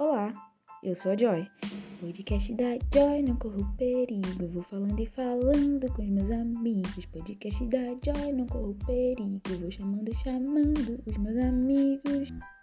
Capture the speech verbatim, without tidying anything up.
Olá, eu sou a Joy, podcast da Joy, não corro perigo, vou falando e falando com os meus amigos, podcast da Joy, não corro perigo, vou chamando, chamando os meus amigos.